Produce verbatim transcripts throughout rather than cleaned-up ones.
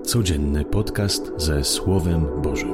Codzienny podcast ze Słowem Bożym.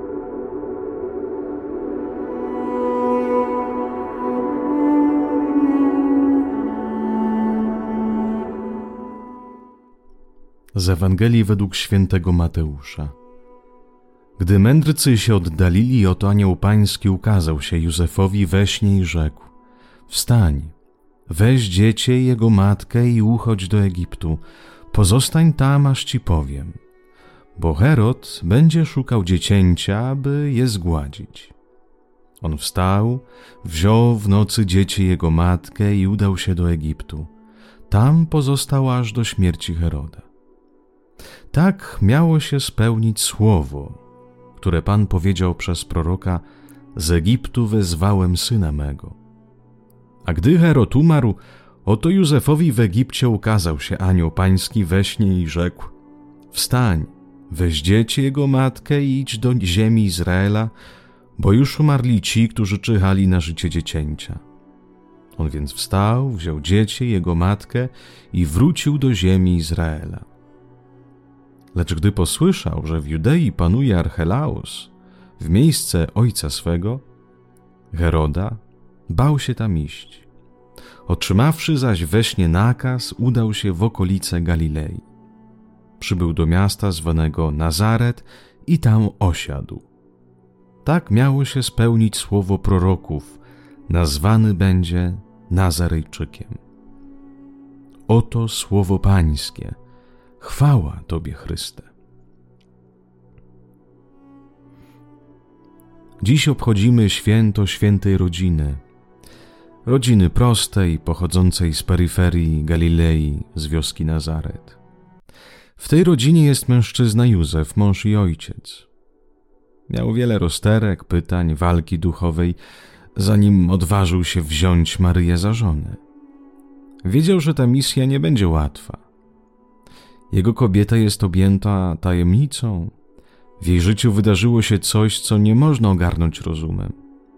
Z Ewangelii według świętego Mateusza. Gdy mędrcy się oddalili, oto anioł pański ukazał się Józefowi we śnie i rzekł: Wstań, weź dziecię i jego matkę i uchodź do Egiptu, pozostań tam, aż ci powiem, bo Herod będzie szukał dziecięcia, aby je zgładzić. On wstał, wziął w nocy dziecię i jego matkę i udał się do Egiptu. Tam pozostał aż do śmierci Heroda. Tak miało się spełnić słowo, które Pan powiedział przez proroka: z Egiptu wezwałem syna mego. A gdy Herod umarł, oto Józefowi w Egipcie ukazał się anioł pański we śnie i rzekł: Wstań, weź dziecię jego matkę i idź do ziemi Izraela, bo już umarli ci, którzy czyhali na życie dziecięcia. On więc wstał, wziął dziecię, jego matkę i wrócił do ziemi Izraela. Lecz gdy posłyszał, że w Judei panuje Archelaus, w miejsce ojca swego, Heroda, bał się tam iść. Otrzymawszy zaś we śnie nakaz, udał się w okolice Galilei. Przybył do miasta zwanego Nazaret i tam osiadł. Tak miało się spełnić słowo proroków: nazwany będzie Nazarejczykiem. Oto słowo Pańskie. Chwała Tobie, Chryste. Dziś obchodzimy święto świętej rodziny. Rodziny prostej, pochodzącej z peryferii Galilei, z wioski Nazaret. W tej rodzinie jest mężczyzna Józef, mąż i ojciec. Miał wiele rozterek, pytań, walki duchowej, zanim odważył się wziąć Maryję za żonę. Wiedział, że ta misja nie będzie łatwa. Jego kobieta jest objęta tajemnicą. W jej życiu wydarzyło się coś, co nie można ogarnąć rozumem.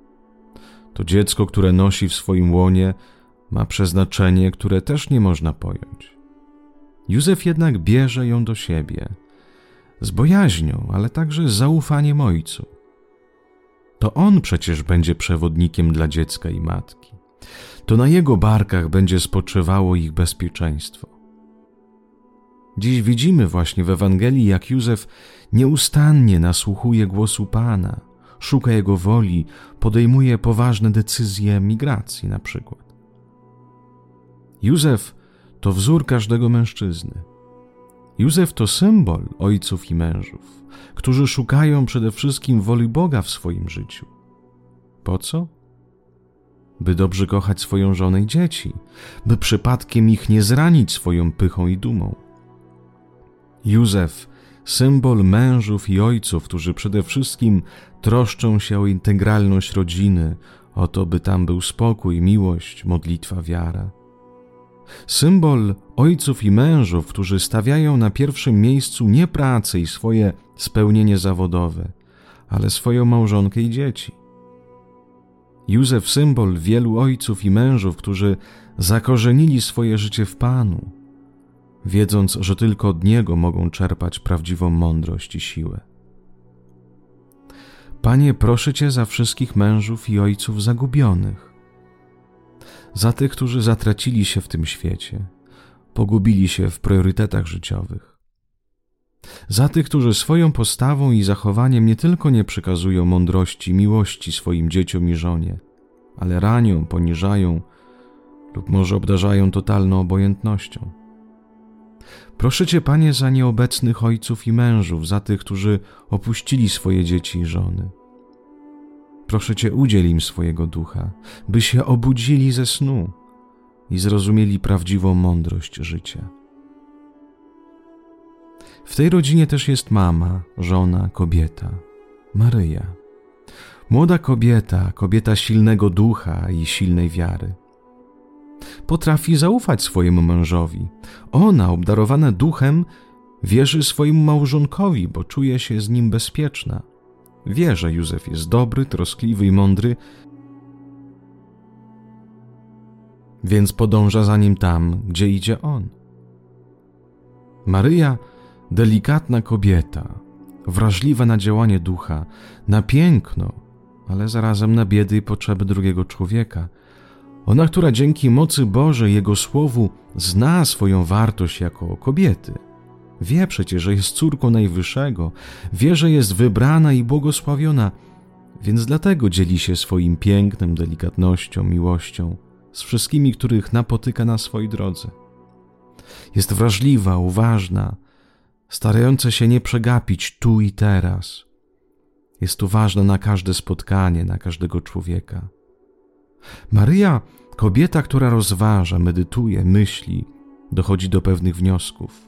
To dziecko, które nosi w swoim łonie, ma przeznaczenie, które też nie można pojąć. Józef jednak bierze ją do siebie, z bojaźnią, ale także z zaufaniem ojcu. To on przecież będzie przewodnikiem dla dziecka i matki. To na jego barkach będzie spoczywało ich bezpieczeństwo. Dziś widzimy właśnie w Ewangelii, jak Józef nieustannie nasłuchuje głosu Pana, szuka Jego woli, podejmuje poważne decyzje migracji na przykład. Józef to wzór każdego mężczyzny. Józef to symbol ojców i mężów, którzy szukają przede wszystkim woli Boga w swoim życiu. Po co? By dobrze kochać swoją żonę i dzieci, by przypadkiem ich nie zranić swoją pychą i dumą. Józef, symbol mężów i ojców, którzy przede wszystkim troszczą się o integralność rodziny, o to, by tam był spokój, miłość, modlitwa, wiara. Symbol ojców i mężów, którzy stawiają na pierwszym miejscu nie pracę i swoje spełnienie zawodowe, ale swoją małżonkę i dzieci. Józef, symbol wielu ojców i mężów, którzy zakorzenili swoje życie w Panu, wiedząc, że tylko od Niego mogą czerpać prawdziwą mądrość i siłę. Panie, proszę Cię za wszystkich mężów i ojców zagubionych, za tych, którzy zatracili się w tym świecie, pogubili się w priorytetach życiowych, za tych, którzy swoją postawą i zachowaniem nie tylko nie przekazują mądrości i miłości swoim dzieciom i żonie, ale ranią, poniżają lub może obdarzają totalną obojętnością. Proszę Cię, Panie, za nieobecnych ojców i mężów, za tych, którzy opuścili swoje dzieci i żony. Proszę Cię, udziel im swojego ducha, by się obudzili ze snu i zrozumieli prawdziwą mądrość życia. W tej rodzinie też jest mama, żona, kobieta, Maryja. Młoda kobieta, kobieta silnego ducha i silnej wiary. Potrafi zaufać swojemu mężowi. Ona, obdarowana duchem, wierzy swojemu małżonkowi, bo czuje się z nim bezpieczna. Wie, że Józef jest dobry, troskliwy i mądry, więc podąża za nim tam, gdzie idzie on. Maryja delikatna kobieta, wrażliwa na działanie ducha, na piękno, ale zarazem na biedy i potrzeby drugiego człowieka. Ona, która dzięki mocy Bożej, Jego Słowu, zna swoją wartość jako kobiety. Wie przecież, że jest córką Najwyższego, wie, że jest wybrana i błogosławiona, więc dlatego dzieli się swoim pięknem, delikatnością, miłością z wszystkimi, których napotyka na swojej drodze. Jest wrażliwa, uważna, starająca się nie przegapić tu i teraz. Jest uważna na każde spotkanie, na każdego człowieka. Maryja, kobieta, która rozważa, medytuje, myśli, dochodzi do pewnych wniosków.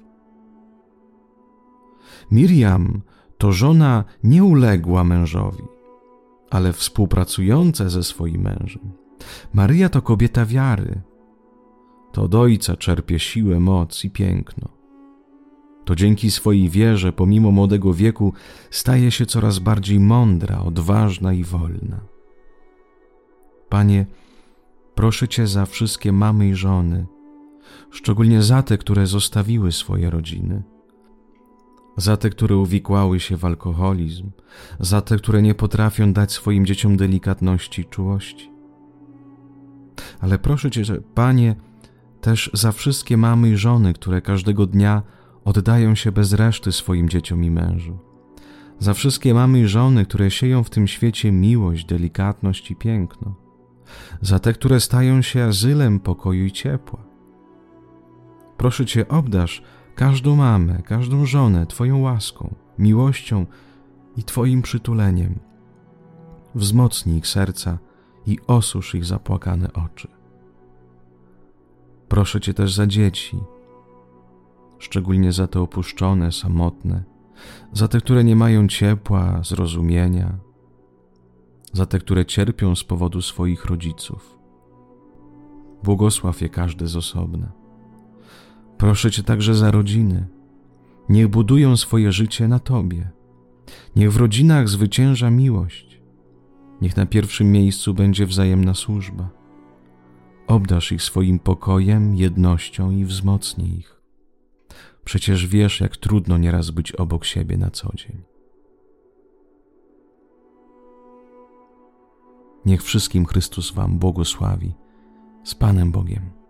Miriam to żona nieuległa mężowi, ale współpracująca ze swoim mężem. Maryja to kobieta wiary. To od Ojca czerpie siłę, moc i piękno. To dzięki swojej wierze, pomimo młodego wieku, staje się coraz bardziej mądra, odważna i wolna. Panie, proszę Cię za wszystkie mamy i żony, szczególnie za te, które zostawiły swoje rodziny, za te, które uwikłały się w alkoholizm, za te, które nie potrafią dać swoim dzieciom delikatności i czułości. Ale proszę Cię, Panie, też za wszystkie mamy i żony, które każdego dnia oddają się bez reszty swoim dzieciom i mężu. Za wszystkie mamy i żony, które sieją w tym świecie miłość, delikatność i piękno. Za te, które stają się azylem pokoju i ciepła. Proszę Cię, obdarz każdą mamę, każdą żonę Twoją łaską, miłością i Twoim przytuleniem. Wzmocnij ich serca i osusz ich zapłakane oczy. Proszę Cię też za dzieci, szczególnie za te opuszczone, samotne, za te, które nie mają ciepła, zrozumienia, za te, które cierpią z powodu swoich rodziców. Błogosław je każdy z osobna. Proszę Cię także za rodziny. Niech budują swoje życie na Tobie. Niech w rodzinach zwycięża miłość. Niech na pierwszym miejscu będzie wzajemna służba. Obdarz ich swoim pokojem, jednością i wzmocnij ich. Przecież wiesz, jak trudno nieraz być obok siebie na co dzień. Niech wszystkim Chrystus Wam błogosławi. Z Panem Bogiem.